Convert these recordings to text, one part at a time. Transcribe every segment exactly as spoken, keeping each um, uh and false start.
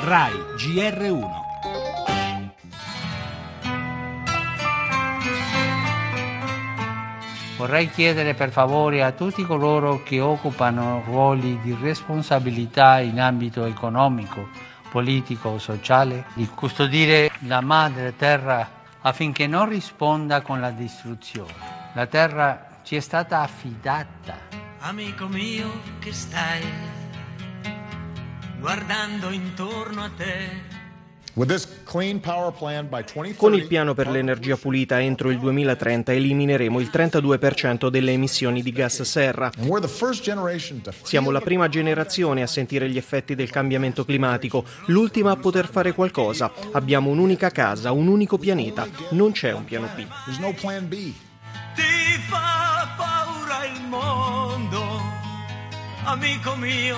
Rai G R uno. Vorrei chiedere per favore a tutti coloro che occupano ruoli di responsabilità in ambito economico, politico o sociale di custodire la madre terra affinché non risponda con la distruzione. La terra ci è stata affidata. Amico mio che stai guardando intorno a te. Con il piano per l'energia pulita entro il duemilatrenta elimineremo il trentadue per cento delle emissioni di gas serra. Siamo la prima generazione a sentire gli effetti del cambiamento climatico, l'ultima a poter fare qualcosa. Abbiamo un'unica casa, un unico pianeta, non c'è un piano B. Ti fa paura il mondo, amico mio,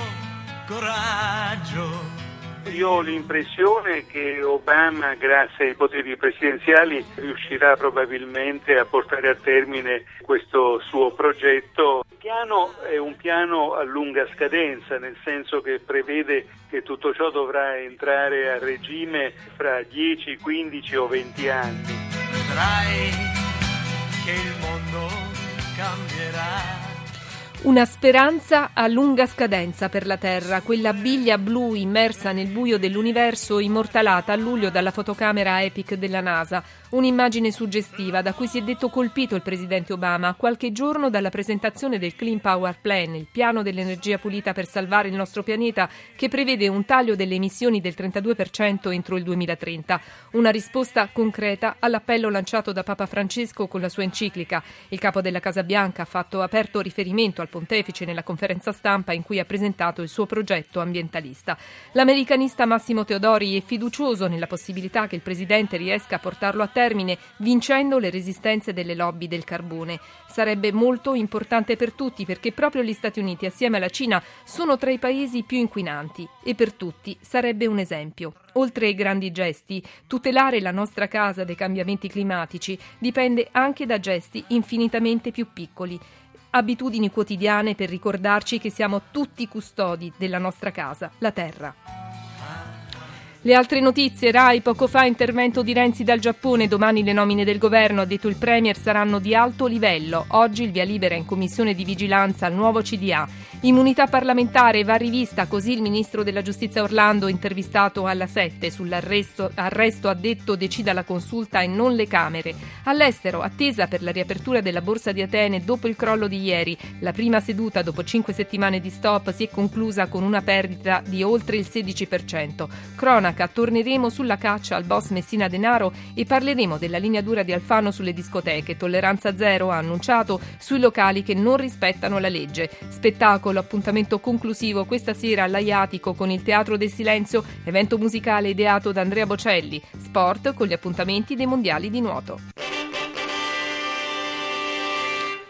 coraggio. Io ho l'impressione che Obama, grazie ai poteri presidenziali, riuscirà probabilmente a portare a termine questo suo progetto. Il piano è un piano a lunga scadenza, nel senso che prevede che tutto ciò dovrà entrare a regime fra dieci, quindici o venti anni. Vedrai che il mondo cambierà. Una speranza a lunga scadenza per la Terra, quella biglia blu immersa nel buio dell'universo, immortalata a luglio dalla fotocamera EPIC della NASA. Un'immagine suggestiva da cui si è detto colpito il presidente Obama a qualche giorno dalla presentazione del Clean Power Plan, il piano dell'energia pulita per salvare il nostro pianeta, che prevede un taglio delle emissioni del trentadue per cento entro il duemilatrenta. Una risposta concreta all'appello lanciato da Papa Francesco con la sua enciclica. Il capo della Casa Bianca ha fatto aperto riferimento al pontefice nella conferenza stampa in cui ha presentato il suo progetto ambientalista. L'americanista Massimo Teodori è fiducioso nella possibilità che il presidente riesca a portarlo a termine vincendo le resistenze delle lobby del carbone. Sarebbe molto importante per tutti perché proprio gli Stati Uniti assieme alla Cina sono tra i paesi più inquinanti e per tutti sarebbe un esempio. Oltre ai grandi gesti, tutelare la nostra casa dai cambiamenti climatici dipende anche da gesti infinitamente più piccoli. Abitudini quotidiane per ricordarci che siamo tutti custodi della nostra casa, la terra. Le altre notizie, Rai, poco fa intervento di Renzi dal Giappone, domani le nomine del governo, ha detto il Premier, saranno di alto livello. Oggi il via libera in commissione di vigilanza al nuovo C D A. Immunità parlamentare va rivista, così il ministro della giustizia Orlando, intervistato alla sette, sull'arresto arresto ha detto decida la consulta e non le Camere. All'estero, attesa per la riapertura della borsa di Atene dopo il crollo di ieri. La prima seduta dopo cinque settimane di stop si è conclusa con una perdita di oltre il sedici per cento. Cronaca. Torneremo sulla caccia al boss Messina Denaro e parleremo della linea dura di Alfano sulle discoteche. Tolleranza zero, ha annunciato, sui locali che non rispettano la legge. Spettacolo, appuntamento conclusivo questa sera all'Aiatico con il Teatro del Silenzio, evento musicale ideato da Andrea Bocelli. Sport con gli appuntamenti dei mondiali di nuoto.